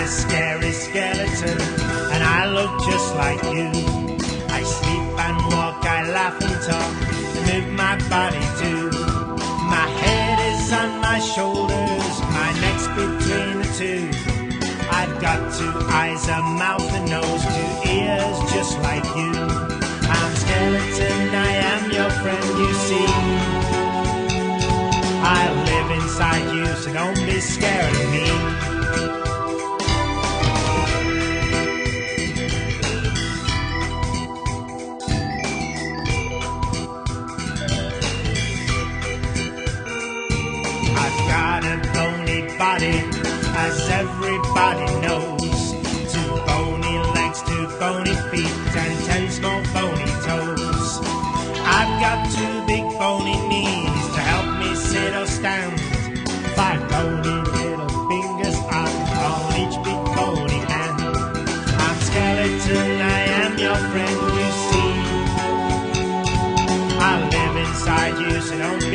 a scary skeleton, and I look just like you. I sleep and walk, I laugh and talk, and move my body too. My head is on my shoulders, my neck's between the two. I've got two eyes, a mouth, a nose, two ears, just like you. I'm skeleton, I am your friend, you see. I live inside you, so don't be scared of me. I've got a bony body, as everybody knows. Two bony legs, two bony feet, and 10 small bony toes. I've got two big bony knees to help me sit or stand. 5 bony little fingers on each big bony hand. I'm skeleton, I am your friend, you see. I live inside you, so don't